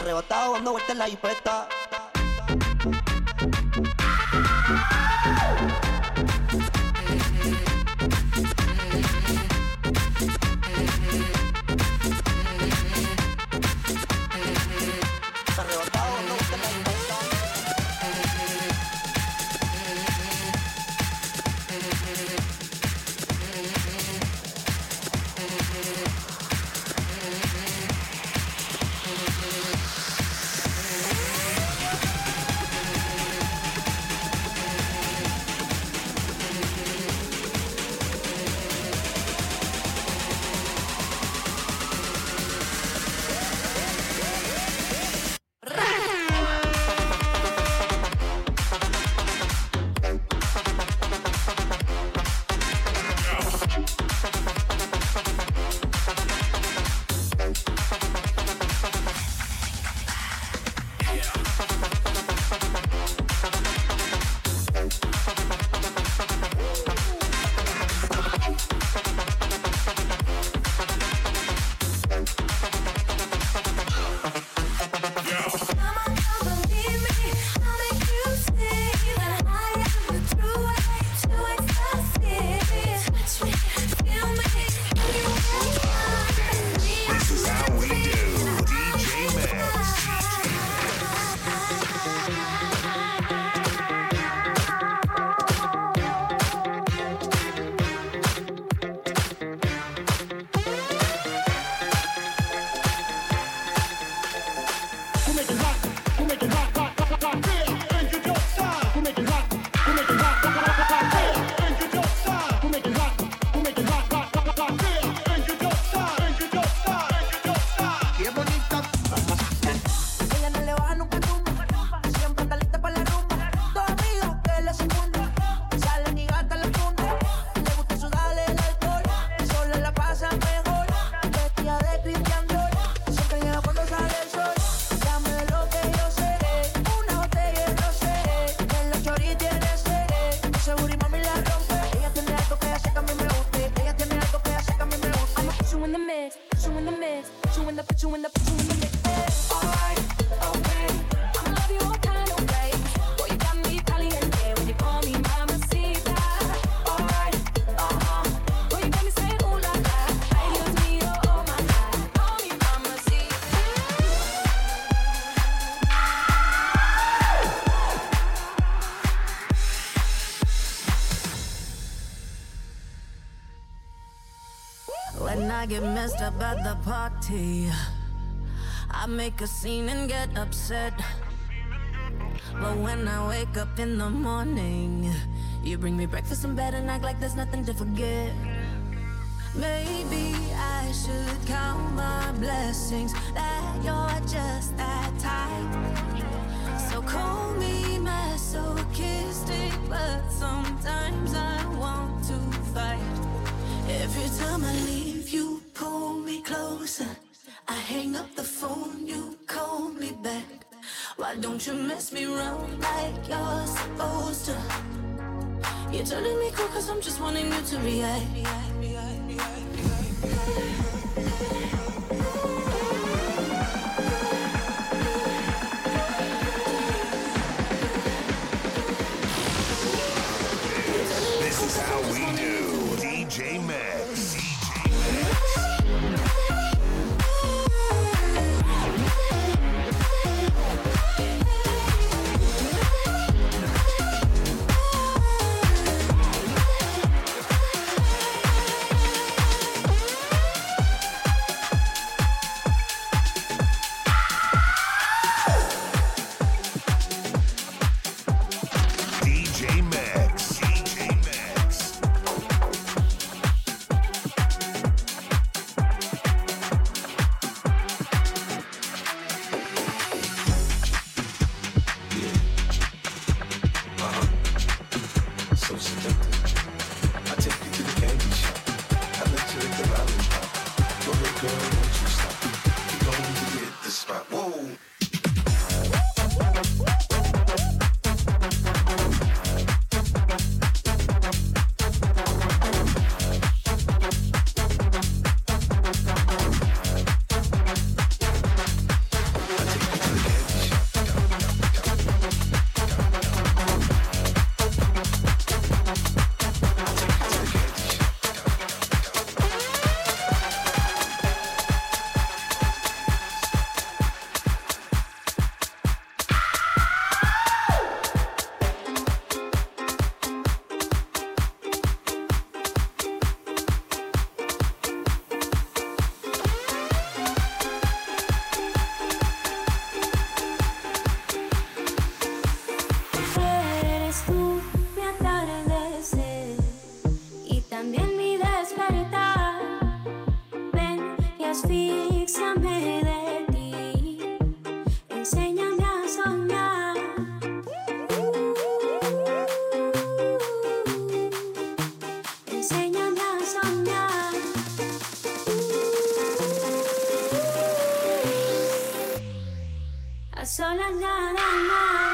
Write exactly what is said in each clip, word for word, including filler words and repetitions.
Arrebatado dando vueltas en la jipeta. When I get messed up at the party, I make a scene and get upset. But when I wake up in the morning, you bring me breakfast in bed and act like there's nothing to forget. Maybe I should count my blessings that you're just that type. So call me masochistic, but sometimes I want to fight. Every time I leave, you pull me closer. I hang up the phone, you call me back. Why don't you mess me around like you're supposed to? You're turning me cool cause I'm just wanting you to react. This is how we do. D J Max. asfíxiame de ti, enséñame a soñar. Enséñame a soñar. A solas nada más.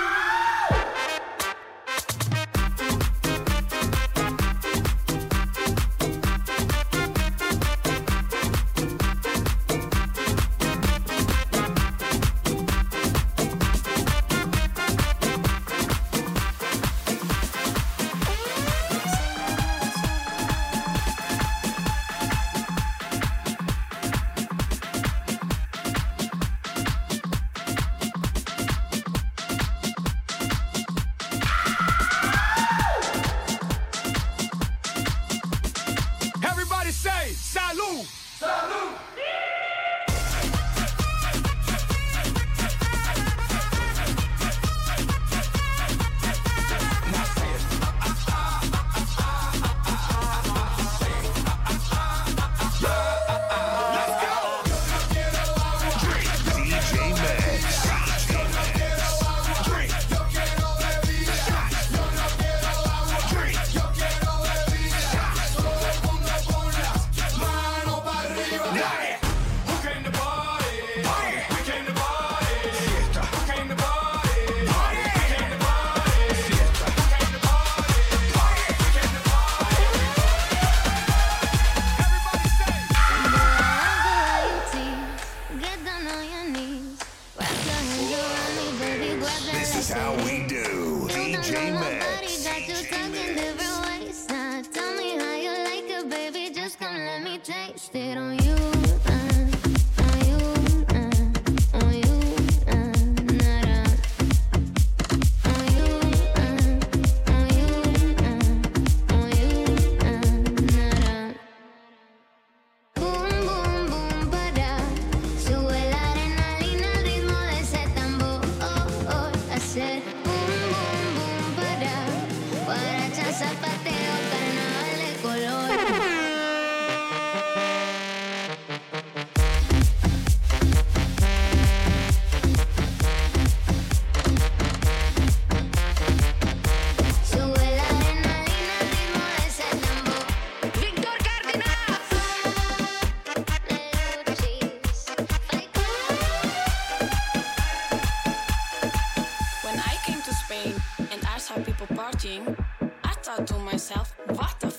I thought to myself, what the f?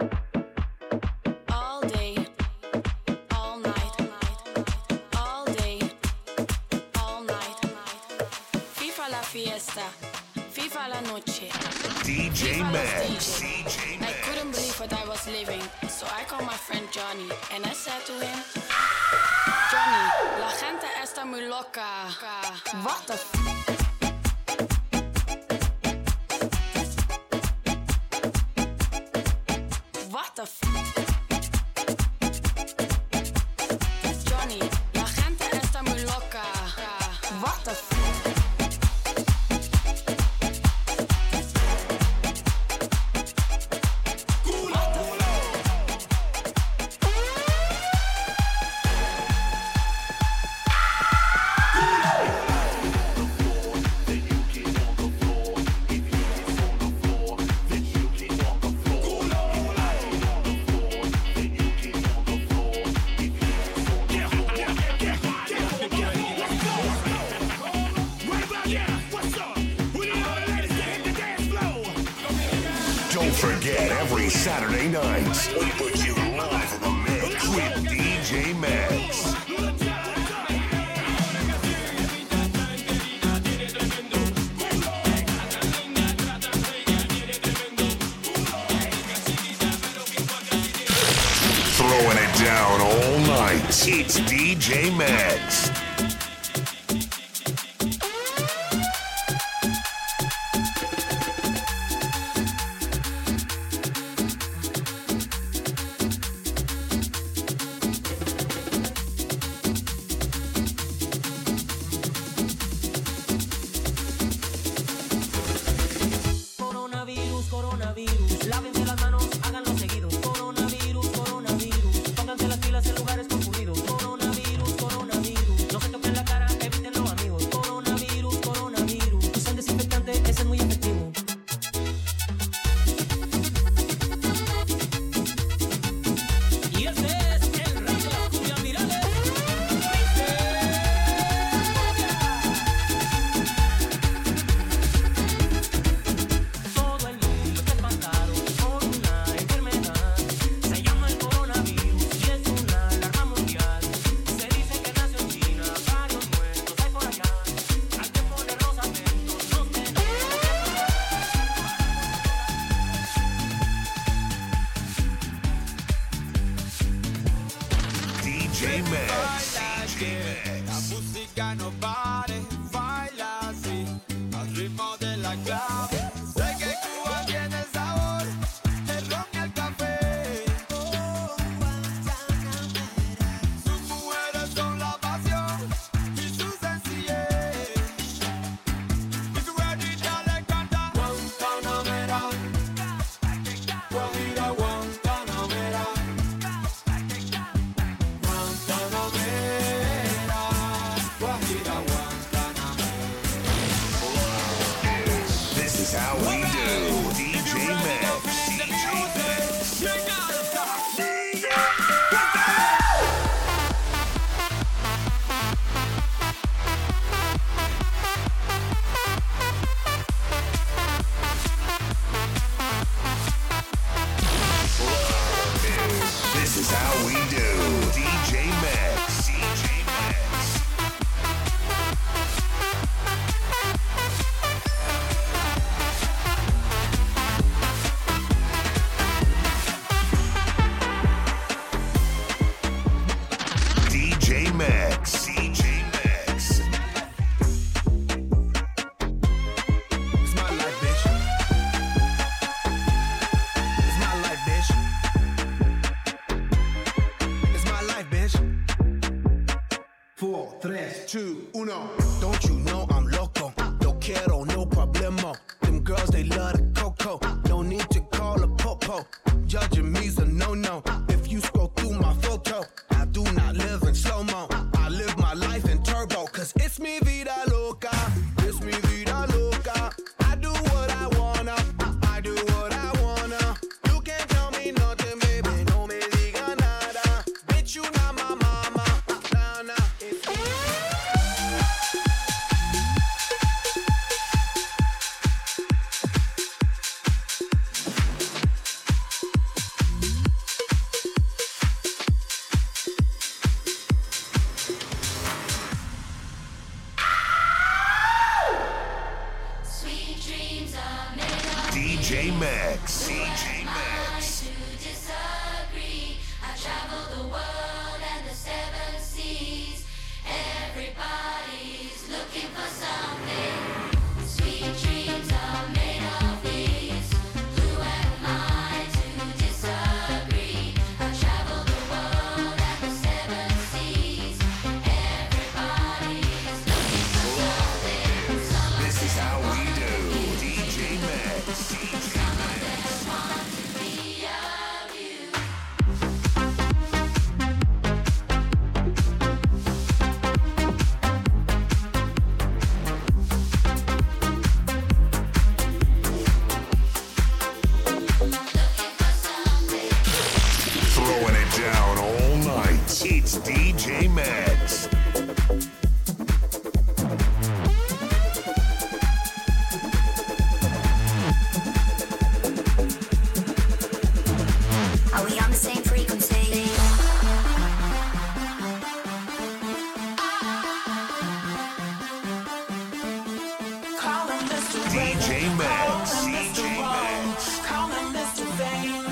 All day, all night, all day, all night. FIFA la fiesta, FIFA la noche. D J Max. I couldn't believe what I was living, so I called my friend Johnny and I said to him, Johnny, la gente está muy loca. What the f? What the f? Johnny, la gente está muy loca. What the f? Don't forget, every Saturday night, we put you live in the mix with D J Max. Throwing it down all night, it's D J Max. Coronavirus, coronavirus, lávense las manos, háganlo seguido. Coronavirus, coronavirus, pónganse las pilas en lugares concurridos. Coronavirus. J Max. La música no pare, baila así, al ritmo de la clave. Sé que Cuba tiene el sabor, el ron y el café. Sus mujeres son la pasión y su sencillez. Y su guerrilla le canta Guantanamera, Guajira Guantanamera. This is how we do. D J Max. D J Max. This is how we do. D J Max. D J Max. D J Max. D J Max. It's my life, bitch. It's my life, bitch. It's my life, bitch. Four, tres, two, uno. Don't you know I'm loco? No quiero, no problemo. Them girls, they love the coco. No need to call a popo. Judging me's a no-no. If you scroll through my photo, I do not live in slow-mo. I live my life in turbo. Cause it's mi vida loca. It's mi vida loca. I do what I wanna. I do what I wanna. You can't tell me nothing, baby. No me diga nada. Bitch, you not my mama. Nah, nah. It's Sweet dreams are made of D J Max. D J mine Max. to disagree. I travel the world and the seven seas. Everybody's looking for something. Sweet dreams are made of these. Who am I to disagree? I travel the world and the seven seas. Everybody's looking for something. Some of This is them how we wanna do. be D J Max. D J Some of Max. them want to be of you. Throwing it down all night. It's D J Max. Are we on the same frequency? D J Max. D J Max. Call him Mister Fame.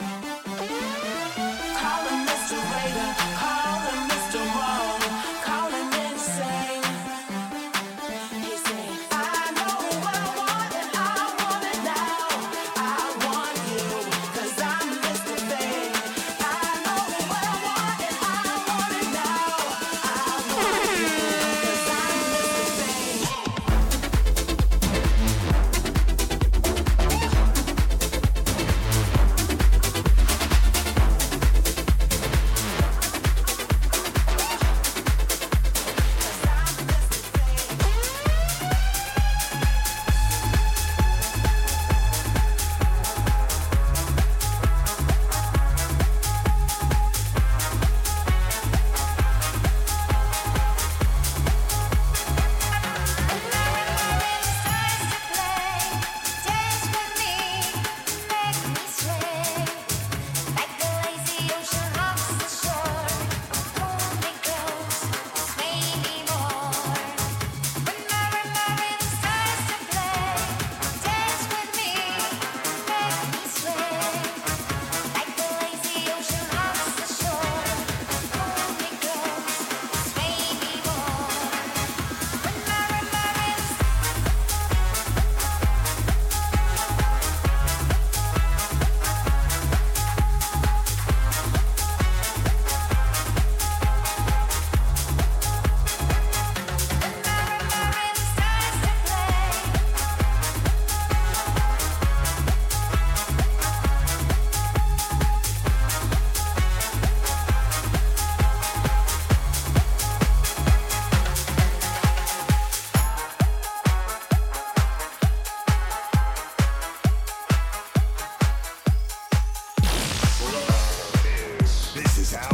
Call him Mister Raider. Call him Mister Wrong. Call him insane. He say, I know what I want and I want it now. I want you, cause I'm Mister Fame. I know what I want and I want it now. I want you, cause I'm Mister Fame.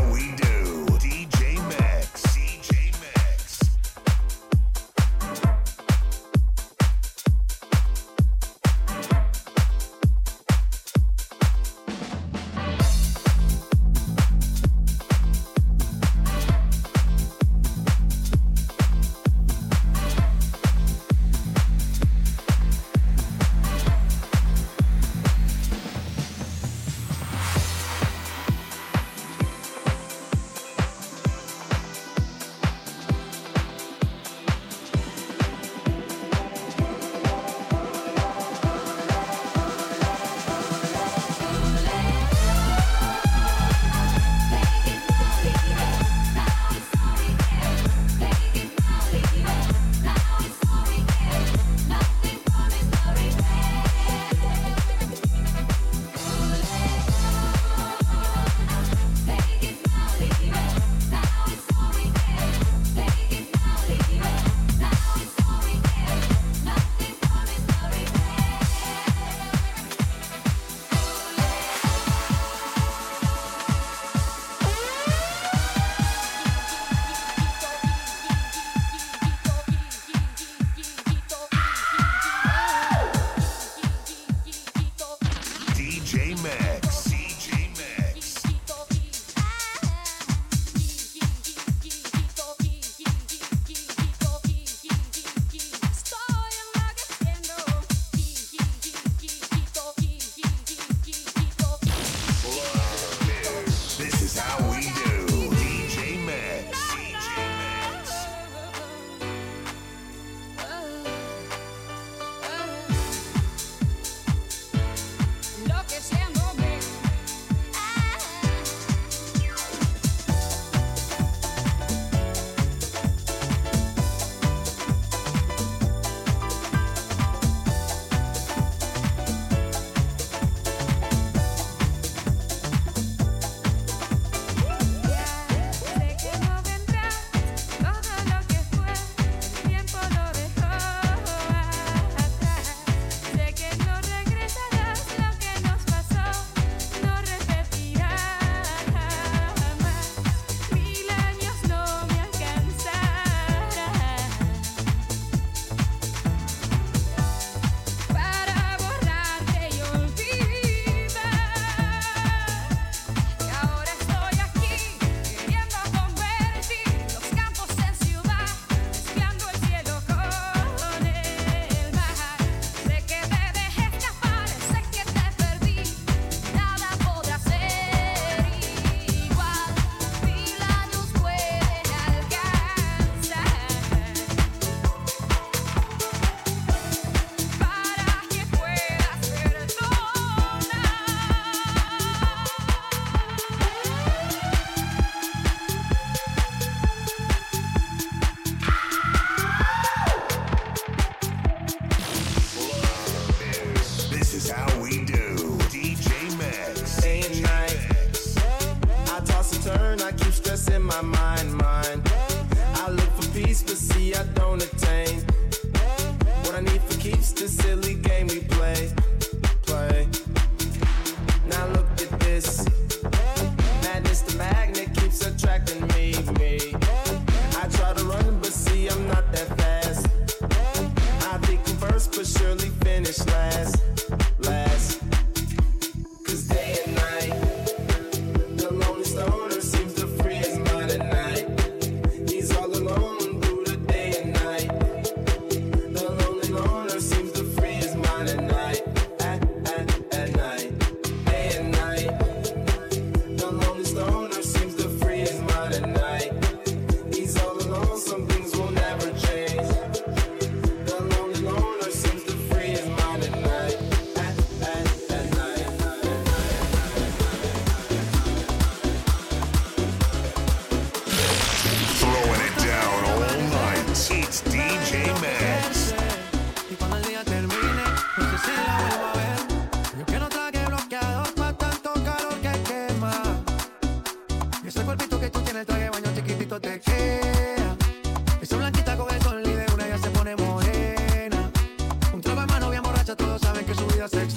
we do. D J Max. D J Max.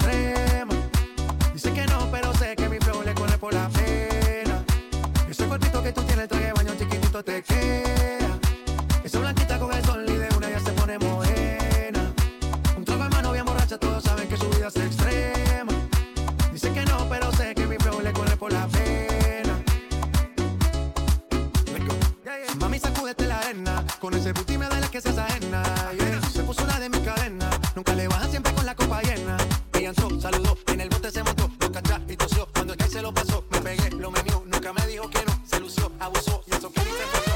Dice que no, pero sé que mi flow le corre por la pena. Ese cuerpito que tú tienes el traje de baño chiquitito te queda. Esa blanquita con el sol y de una ya se pone morena. Un trago de mano bien borracha, todos saben que su vida es extrema. Dicen que no, pero sé que mi flow le corre por la pena. Mami, sacúdete la arena, con ese booty me duele que se ajena. Yeah. Se puso una de mis cadenas, nunca le baja siempre con la copa llena. Ella entró, saludó, en el bote se montó, lo cachá y tosió. Cuando el que se lo pasó, me pegué, lo menió, nunca me dijo que no. Se lució, abusó y eso que ni se pasó.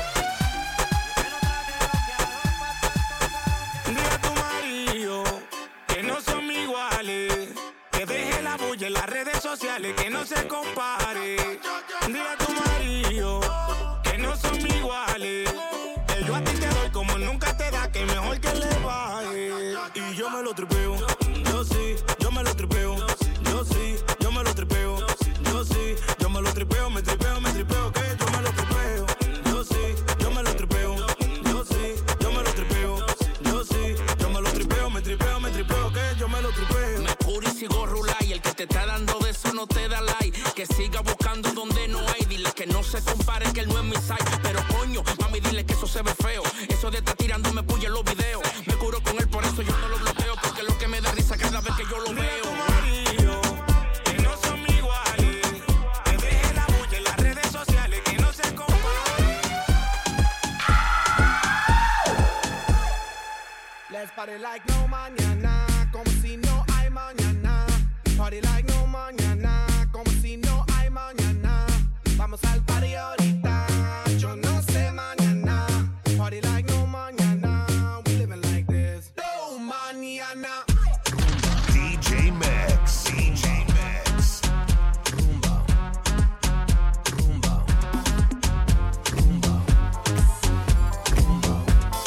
Dile a tu marido que no son iguales, que deje la bulla en las redes sociales, que no se compare. Dile a tu marido que no son iguales, que yo a ti te doy como nunca te da, que mejor que le baje. Y yo me lo tripeo, yo sí, yo me lo tripeo, yo sí, yo me lo tripeo, yo sí, yo me lo tripeo, me tripeo, me tripeo, que yo me lo tripeo, yo sí, yo me lo tripeo, yo sí, yo me lo tripeo, yo sí, yo me lo tripeo, me tripeo, me tripeo, que yo me lo tripeo. Me curo y sigo rular y el que te está dando de eso no te da like, que siga buscando donde no hay, dile que no se compare, que él no es mi site, pero coño, mami dile que eso se ve feo, eso de estar tirándome puya en los videos, me curo con él por eso yo no lo bloqueo, porque lo que me da risa cada vez que yo lo veo. Que no son iguales, que deje la bulla en las redes sociales, que no se compare. Let's party like no mañana, como si no hay mañana. Party like no mañana, como si no hay mañana. Vamos al party ahorita, yo no sé mañana. Party like no mañana, we living like this. No mañana. D J Max, D J Max. Rumba, rumba, rumba, rumba.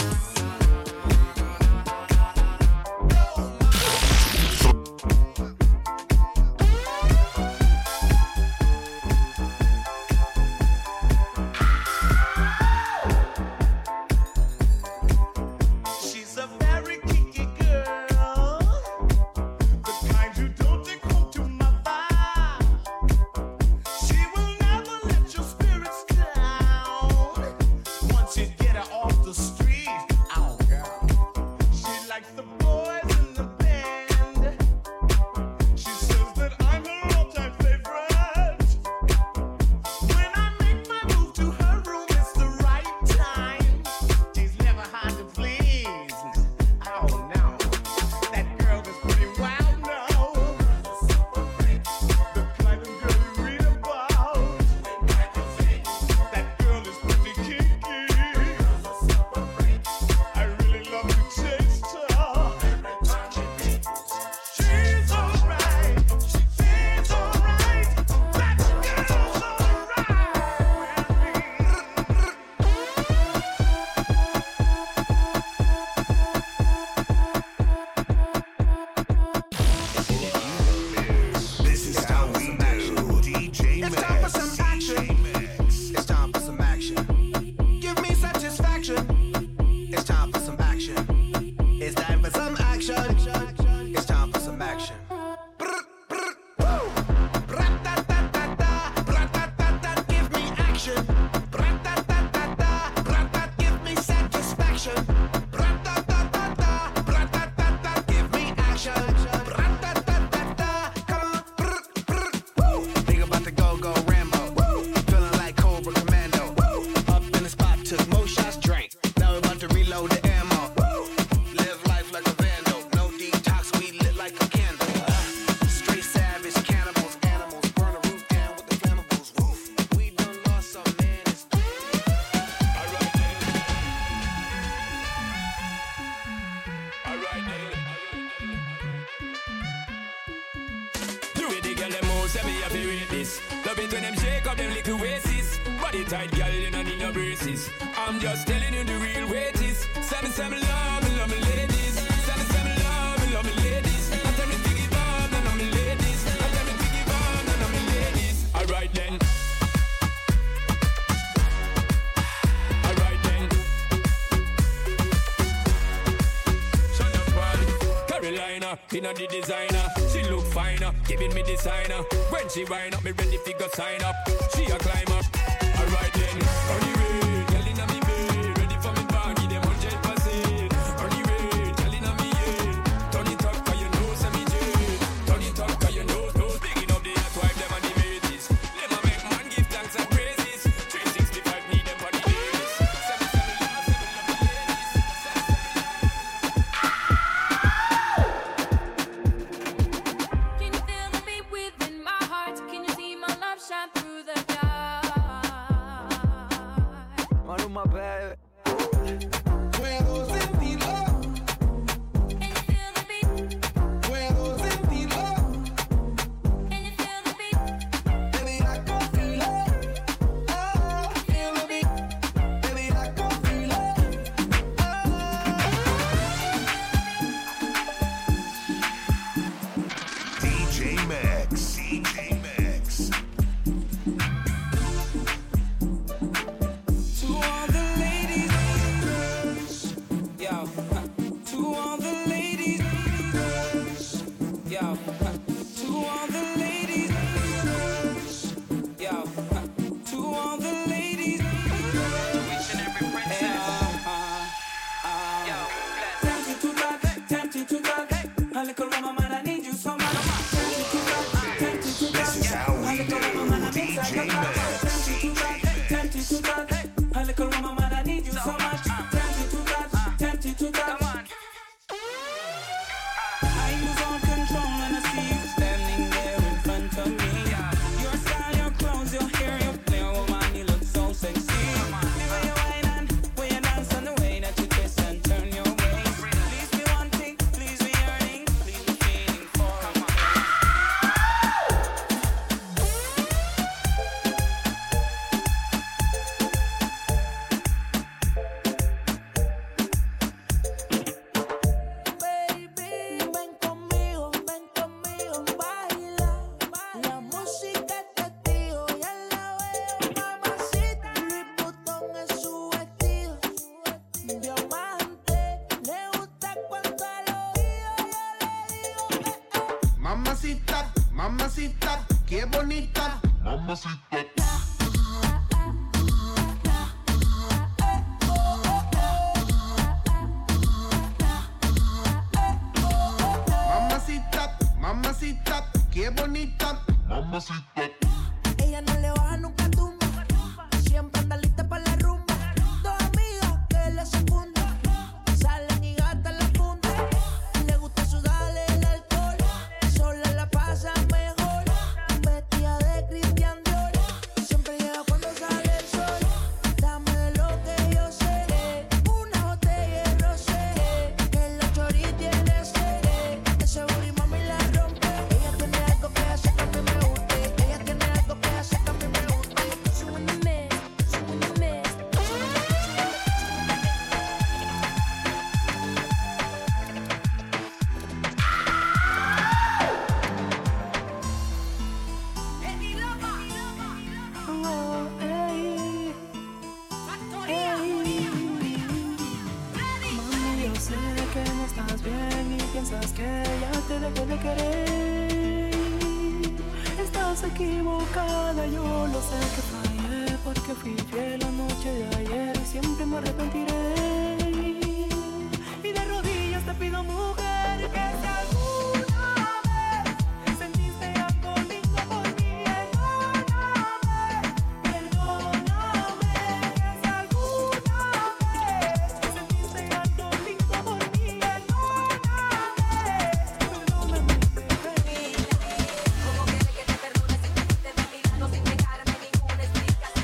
She's a very kinky girl, the kind who don't take home to mother. She will never let your spirits down. Once you get her off the street, oh girl, she likes the boys in the band. She says that I'm her all-time favorite. When I make my move to her room, it's the right time. She's never hard to please. Oh no, that girl is pretty wild now. The kind of girl you read about. That girl is pretty kinky. I really love to taste her. She's alright, she's alright. That girl's alright This is how we do. D J It's time for Max, some D action. J Max. It's time for some action. Give me satisfaction. It's time for some action. It's time for some action. It's time for some action. Brr, brr, woo. Ra-ta-ta-ta-ta, ra-ta-ta-ta, give me action. Ra-ta-ta-ta-ta, ra-ta, give me satisfaction. Ra-ta-ta-ta-ta, ra-ta-ta-ta, give me action. Ra-ta-ta-ta-ta, come on. Brr, brr, woo. Think about the go-go Rambo. Woo. Feeling like Cobra Commando. Woo. Up in the spot, took more shots, drank. Now we're about to reload the ammo. Woo. Live life like a vandal. No detox, we lit like a candle. Uh, straight savage, cannibals, animals. Burn the roof down with the flammables. Woof. We done lost some man. It's The way the girl them move, say me have to rate this. Love it when them shake up them little waists. Body tight, girl, you don't need no braces. I'm just telling you the real way it is. Say me, say me love me, love me ladies. Say me, say me love me, love me ladies. I tell me to give on, none of me ladies. I tell me to give on, none of me ladies. Alright then. Alright then. Shut up, body. Carolina, inna the designer. She look finer, giving me designer. When she wind up, me ready fi go sign up. She a climber. Alright then. my baby. Puedo sentirlo. Puedo sentirlo. Baby, I can feel it. Oh, feel the beat. Baby, I can feel it. D J Max. D J Max. To all the ladies, yo. To all the ladies, yo. To all the ladies, yo. To all the ladies, each and every princess. Tempted to touch, tempted to touch. A little woman, man, I need you so much. Tempted to touch, tempted to touch. This is how we do. D J Max. Tempted to touch, a little woman, man, I need you so much. Tempted to touch, tempted to touch. I lose all control when I see you standing there in front of me. Your style, your clothes, your hair, your flair, woman, you look so sexy. The way you whine and way you dance and the way that you twist and turn your waist. Please be wanting, please be yearning, please be feeling for me. Baby, ven conmigo, ven conmigo, baila. La música es testigo, ya la veo, mamacita. Louis Vuitton es su vestido, diamante. Le gusta cuando al oído yo le digo, eh, eh. Mamacita, mamacita, qué bonita. Mamacita, mamacita, qué bonita. Ella no le baja nunca tumba, siempre anda lista para la rumba. Dos amigas que le secundan, salen y gastan la funda. Le gusta sudarle el alcohol, sola la pasa mejor. Vestida de Christian Dior, siempre llega cuando sale el sol. Dame de lo que yo sé, una botella de rosé, que la chori tiene sed. Ese booty mami la rompe. Ella tiene algo que hace que a mí me guste. Ella tiene algo que hace que a mí me guste. Súbeme, súbeme, Oh, ey, ey. Mami, yo sé que no estás bien y piensas que ya te dejé de querer. Estás equivocada, yo lo sé que fallé porque fui fiel la noche de ayer y siempre me arrepentiré. Y de rodillas te pido, mujer, que si alguna vez sentiste algo lindo por mí, perdóname, perdóname. Que si alguna vez sentiste algo lindo por mí, perdóname, perdóname, bebé. ¿Cómo quieres que te perdone si te fuiste de mi lado sin dejarme ninguna explicación?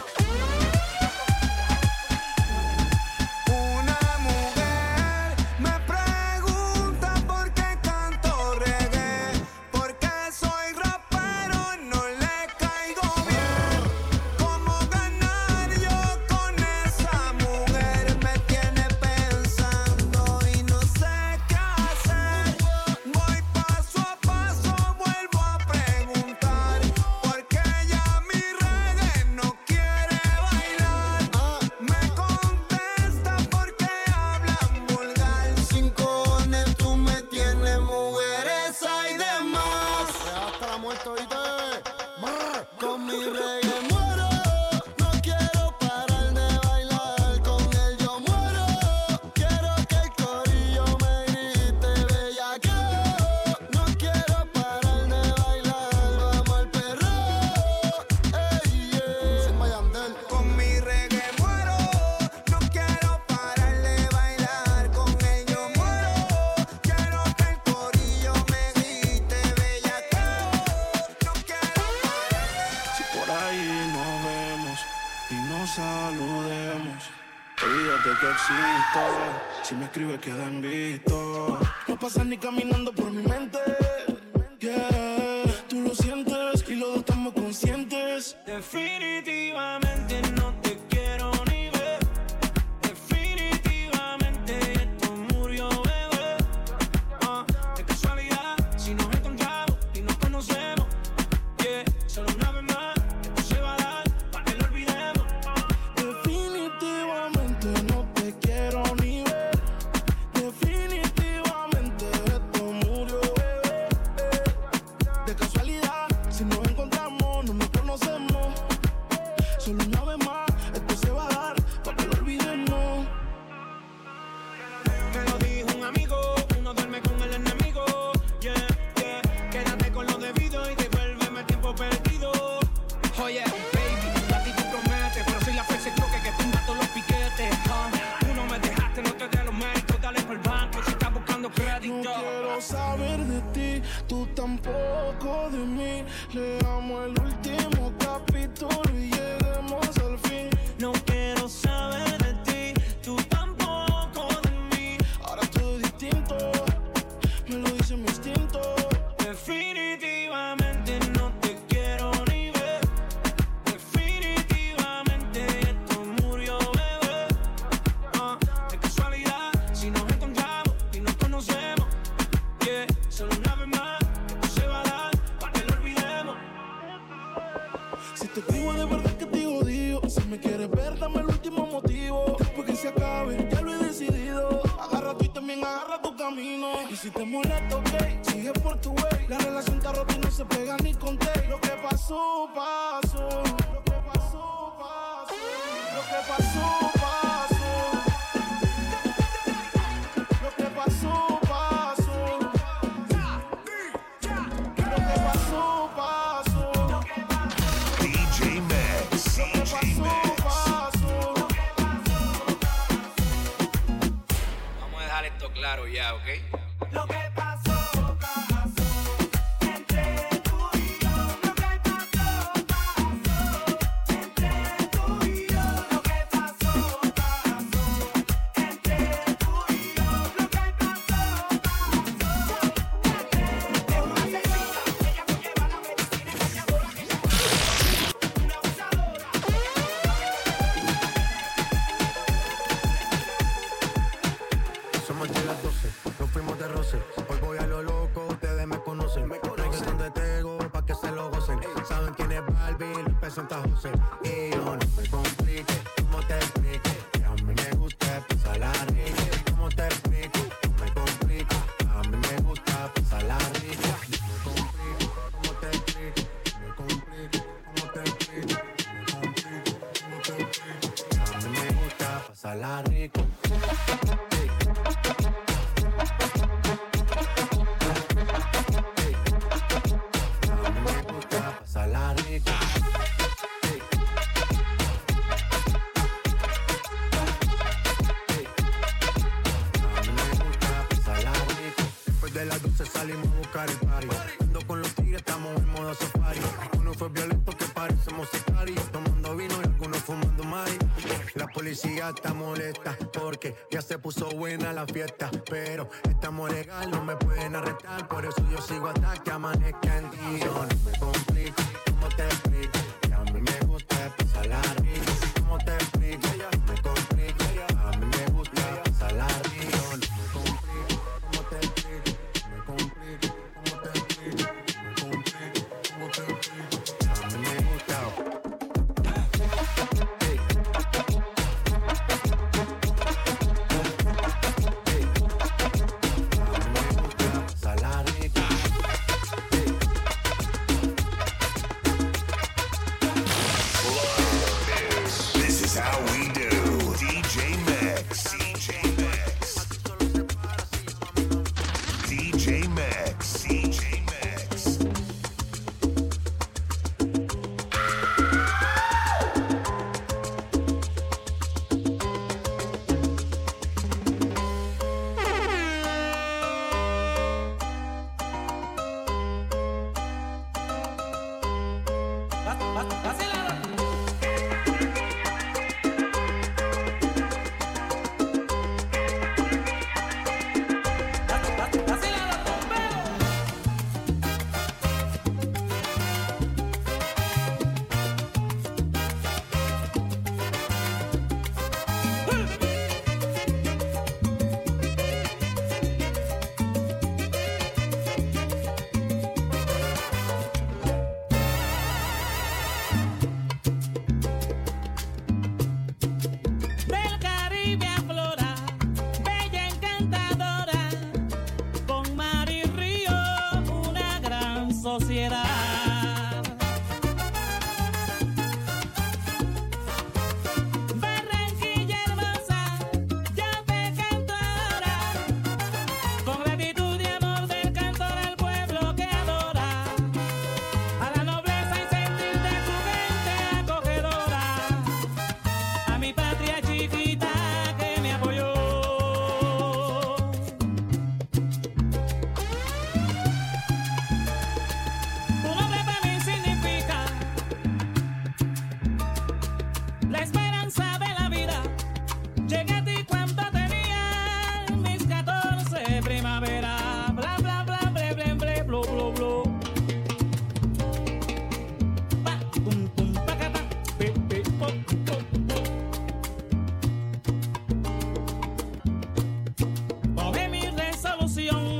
Una mujer me pregunta por qué canto reggae, porque soy rapero y no le caigo bien. ¿Cómo ganar yo con esa mujer? Me tiene pensando y no sé qué hacer. Voy paso a paso, vuelvo a preguntar, porque ella mi reggae no quiere bailar. Me contesta porque hablan vulgar. Sin cojones tú me tienes, mujeres hay de más. Hasta la muerte, oíste. Brr. Con mi reggae muero, no quiero parar de bailar. Con él yo muero, quiero que el corillo me grite bellaqueo. No quiero parar de bailar, vamos al perreo. Ey, yeah. Sin Mayandel. Con mi reggae muero, no quiero parar de bailar. Con él yo muero, quiero que el corillo me grite bellaqueo. No quiero parar de Si por ahí nos vemos y nos saludemos, Olvídate que existo. Si me escribes queda en visto. No pasas ni caminando por mi mente. Yeah, tú lo sientes y los dos estamos conscientes. Definitivamente no te quiero ni ver. Definitivamente esto murió, bebé. Ah, de casualidad, si nos encontramos y nos conocemos. Yeah, solo una vez más, esto se va a dar para que lo olvidemos. Definitivamente no te quiero ni ver. Definitivamente esto murió, bebé. De casualidad, si nos encontramos, no nos conocemos. Solo una vez más, esto se va a dar para que lo olvidemos. Me lo dijo un amigo, uno duerme con el enemigo. Yeah, yeah, quédate con lo debido y devuélveme el tiempo perdido. Oye, baby, a ti tú prometes, pero soy la fuerza choque que tumba todos los piquetes. Ah, tú no me dejaste, no te dé los méritos, dale por el banco si estás buscando crédito. No quiero saber de ti, tú tampoco de mí. Leamos el último capítulo y lleguemos al fin. No quiero saber de ti, tú tampoco de mí. Ahora todo es distinto, me lo dice mi instinto. Definitivamente no te quiero ni ver. Definitivamente esto murió, bebé. Ah, de casualidad, si nos encontramos y nos conocemos. Yeah, solo una vez más, esto se va a dar para que lo olvidemos. Si te escribo de verdad que te odio. Si me quieres ver, dame el último motivo. Después que se acabe, ya lo he decidido. Agarra tú y también agarra tu camino. Y si te molesta, ok, sigue por tu way. La relación está rota y no se pega ni con té. Lo que pasó, pasó. Lo que pasó, pasó. Lo que pasó, pasó. Lo que pasó, pasó. Lo que pasó, pasó. D J Max. Lo que pasó, pasó. Vamos a dejar esto claro ya, ¿ok? Lo que pasó, pasó entre tú y yo. Lo que pasó, pasó entre tú y yo. Lo que pasó, pasó entre tú y yo. Lo que pasó, pasó. Es una asesina, ella me lleva la medicina engañadora que ella una abusadora. Somos de las doce, nos fuimos de roce. Hoy voy a lo loco, ustedes me conocen. Me conocen de Tego, pa' que se lo gocen. Saben quién es Barbie, Lupe Santa José. Y yo no me complique, ¿cómo te explique? Que a mí me gusta pasarla rica. ¿Cómo te explico? No me complico, a mí me gusta pasarla rica. Me complico, ¿cómo te explico? Me complico, ¿cómo te explico? Me complico, ¿cómo te explico? A mí me gusta pasarla rica. Pasarla rico. Hey. Hey. A mí me gusta pasarla rico. Después de las doce salimos a buscar el party. Ando con los tigres, estamos en modo safari. Uno fue violento que parecemos sicarios. Tomando vino y algunos fumando mari. La policía está molesta porque ya se puso buena la fiesta. Pero estamos legal, no me pueden arrestar. Por eso yo sigo hasta que amanezca el día. Yo no me complico, ¿cómo te explico? Que a mí me gusta pasarla rico. ¿Cómo te explico? Me complico, a mí me gusta pasarla rico. No me complico, ¿cómo te explico? Me complico, ¿cómo te explico? Me complico, ¿cómo te explico? A mí me gusta. sociedad. Barranquilla hermosa, yo te canto ahora, con gratitud y amor del cantor al pueblo que adora, a la nobleza y sentir de su gente acogedora, a mi patria chiquita que me apoyó. Tu nombre para mí significa la esperanza de la vida. Llegué a ti cuando tenía mis catorce primavera. Bla bla bla ble ble ble blu blu blu. Pa pum pum pa ca pa pe pe po po po. Tomé mi resolución.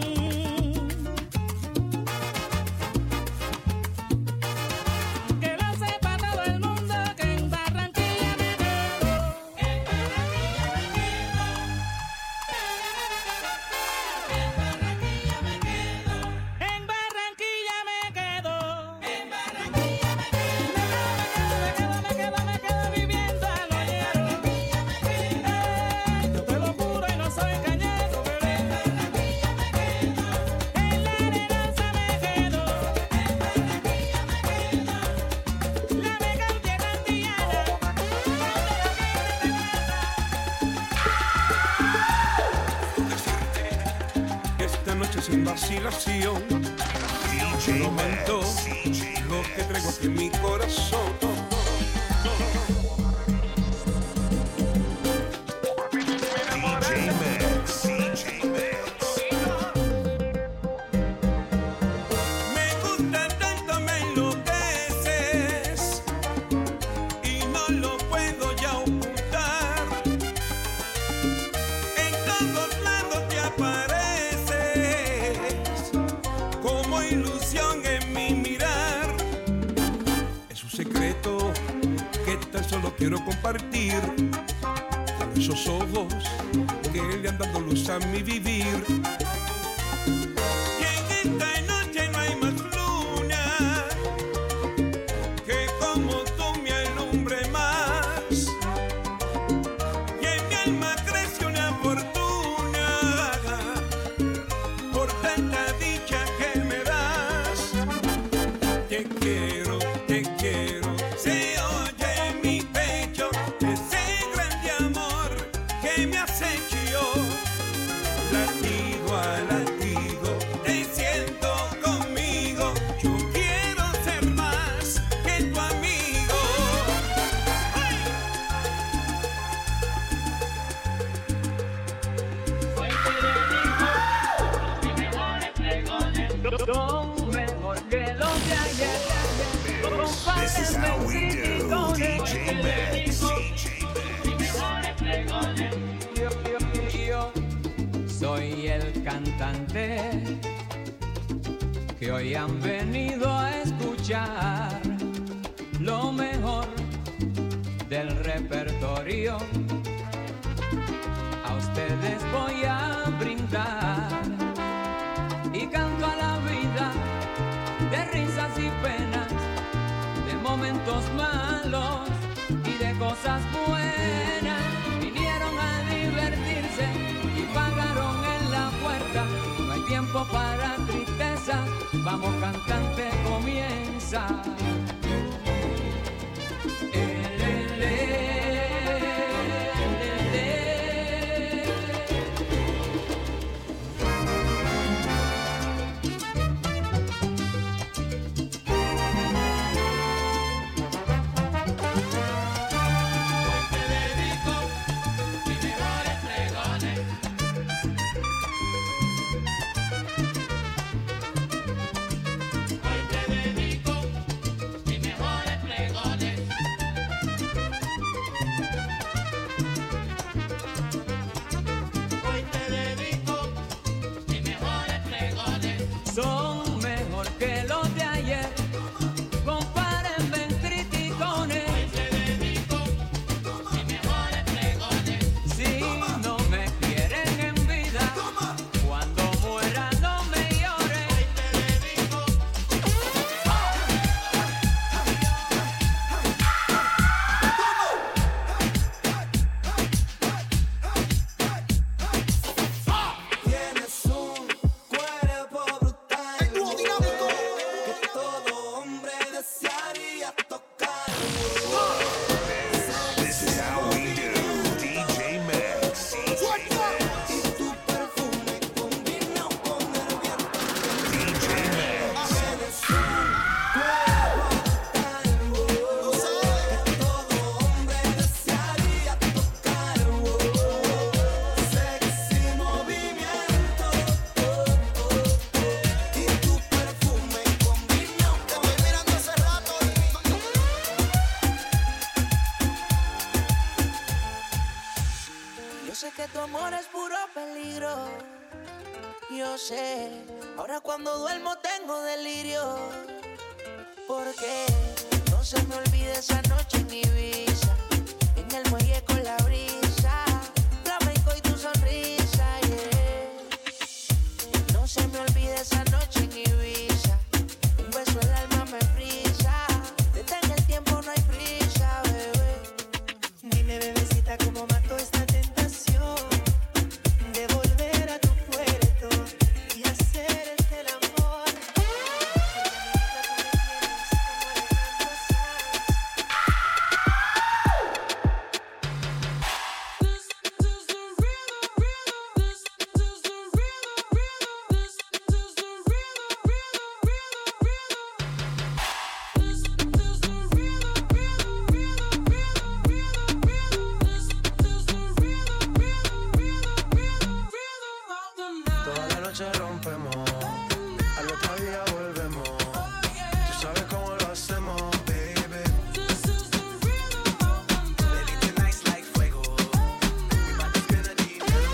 Que lo sepa todo el mundo que en Barranquilla me quedo. En Barranquilla me quedo. En Barranquilla me quedo. En Barranquilla me quedo. En Barranquilla me quedo. Me quedo, me quedo, me quedo viviendo al ollero. Yo te lo juro y no soy cañero, bebé. En Barranquilla me quedo. En la arenosa me quedo. En Barranquilla me quedo. La mega tierra antillana, Esta noche sin vacilación, te lo mando lo que traigo aquí en mi corazón. Me gusta tanto, me enloqueces y no lo puedo ya ocultar. En todos lados te apareces como ilusión en mi mirar. Es un secreto que tan solo quiero compartir con esos ojos que le han dado luz a mi vivir. Y en esta noche no hay más luna que como tú me alumbre más. Y en mi alma crece una fortuna por tanta dicha que me das. Te quiero, te quiero, se oye en mi pecho ese grande amor que me has hecho yo. Latido a latido, te siento conmigo. Yo quiero ser más que tu amigo. ¡Ay! Son mejor que los de ayer. This is how we do, D J Max. Yo, yo, yo soy el cantante que hoy han venido a escuchar lo mejor del repertorio. A ustedes voy a brindar y canto a la vida de risas y penas, de momentos malos y de cosas buenas. Vinieron a divertirse y pagaron en la puerta. No hay tiempo para tristeza, vamos cantante, comienza. El, el, el. sé que tu amor es puro peligro. Yo sé, ahora cuando duermo tengo delirio. Porque no se me olvide esa noche en Ibiza, en el muelle con la brisa, flamenco y tu sonrisa, yeah. No se me olvide esa noche en Ibiza, un beso el alma me frisa. Detén el tiempo, no hay prisa, bebé. Dime, bebecita, cómo mato esta tentación de volver a tu puerto y hacerte el amor. Toda la noche rompemos, al otro día volvemos. Tú sabes cómo lo hacemos, baby. Baby, tonight's like fuego. We about to spend the dinero.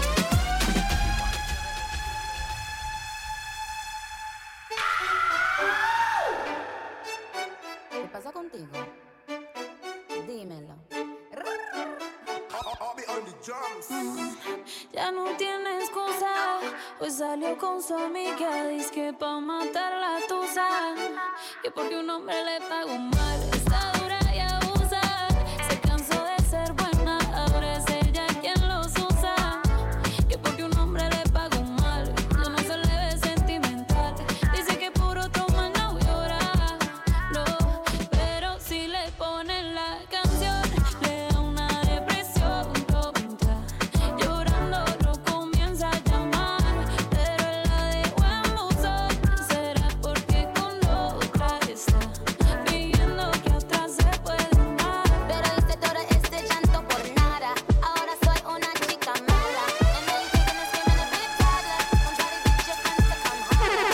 ¿Qué pasa contigo? Dímelo. Ya no tiene excusa, pues salió con su amiga, dizque pa' matar la tusa. Que porque un hombre le pagó mal, está dura y abusa. Se cansó de ser buena, ahora es ella quien los usa. Que porque un hombre le pagó mal, yo no se le ve sentimental. Dice que por otro man no llora, no, pero si le ponen la canción, le da una depresión tonta. Llorando lo comienza a llamar, pero él la dejó en buzón. Será porque con otra está pidiendo que otra se puede dar. Pero hice todo este llanto por nada. Ahora soy una chica mala. And now you thinking it's giving a big toddler. Don't try to get your friends to come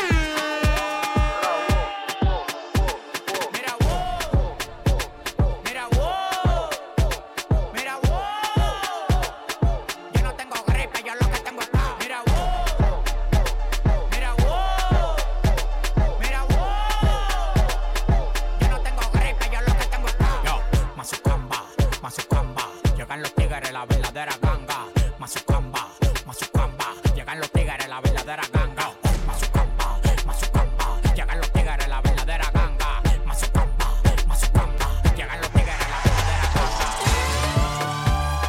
Mira, wow, mira, wow, mira, wow. Yo no tengo gripe, yo lo que tengo es ca- Mira, wow, mira, wow, mira, wow. Yo no tengo gripe, yo lo que tengo es ca- Yo, Mazucamba, Mazucamba, llegan los tigres, la verdadera ganga. Mazucamba, Mazucamba, llegan los tigres, la verdadera ganga. Mazucamba, Mazucamba, llegan los tigres, la verdadera ganga. Mazucamba, Mazucamba, llegan los tigres, la verdadera ganga.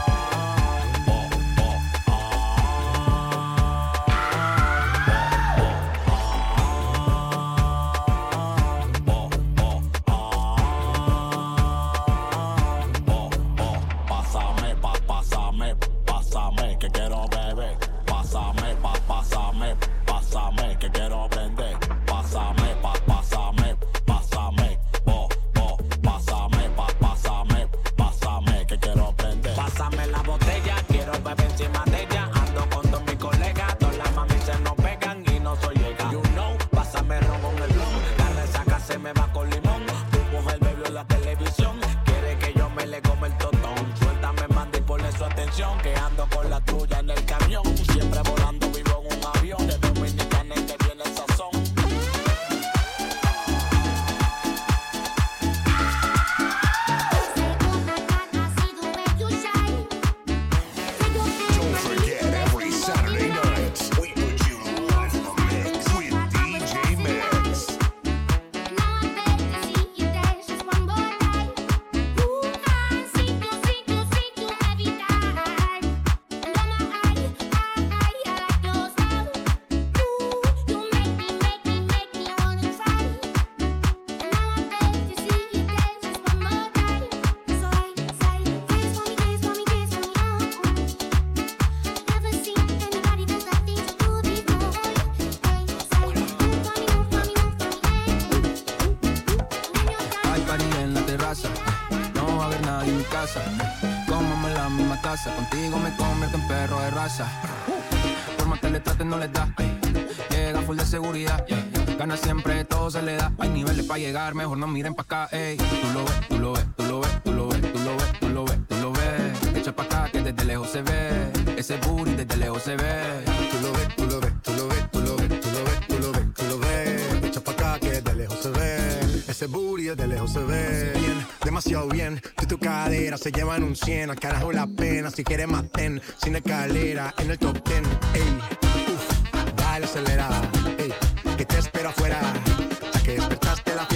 Pásame, pa, pásame, pásame, que quiero beber. Pásame, pa, pásame, pásame, que quiero prender. Pásame, pa, pásame, pásame, bo, bo. Pásame, pa, pásame, pásame, que quiero prender. Pásame la botella, quiero beber encima de ella. Ando con todos mis colegas, todas las mami se nos pegan y no soy llega. You know, pásame ron con el blon, la resaca se me va con limón. Tu mujer me vio en la televisión, quiere que yo me le come el totón. Suéltame, manda y ponle su atención, que ando con la tuya en el camión. Siempre volando, vivo en un avión, de Dominicana y que viene el sazón. Don't forget, every Saturday night, we put you live in the mix with D J Max. Hay party en la terraza, no va a haber nadie en mi casa. Cómame en la misma taza, contigo me convierto en perro de raza. Por más que le traten no les da, llega full de seguridad. Gana siempre, todo se le da. Hay niveles para llegar, mejor no miren pa' acá, ey. Tú lo ves, tú lo ves, tú lo ves, tú lo ves, tú lo ves, tú lo ves, tú lo ves. Echa pa' acá que desde lejos se ve. Ese booty desde lejos se ve. Tú lo ves, tú lo ves, tú lo ves, tú lo ves, tú lo ves, tú lo ves, tú lo ves. Echa pa' acá que de lejos se ve. Ese booty de lejos se ve. Bien, demasiado bien. Tú y tu cadera se llevan un cien. Al carajo la pena, si quieres más ten. Sin escalera, en el top ten. Ey, uff, dale acelerada. Ey, que te espero afuera. Ya que despertaste la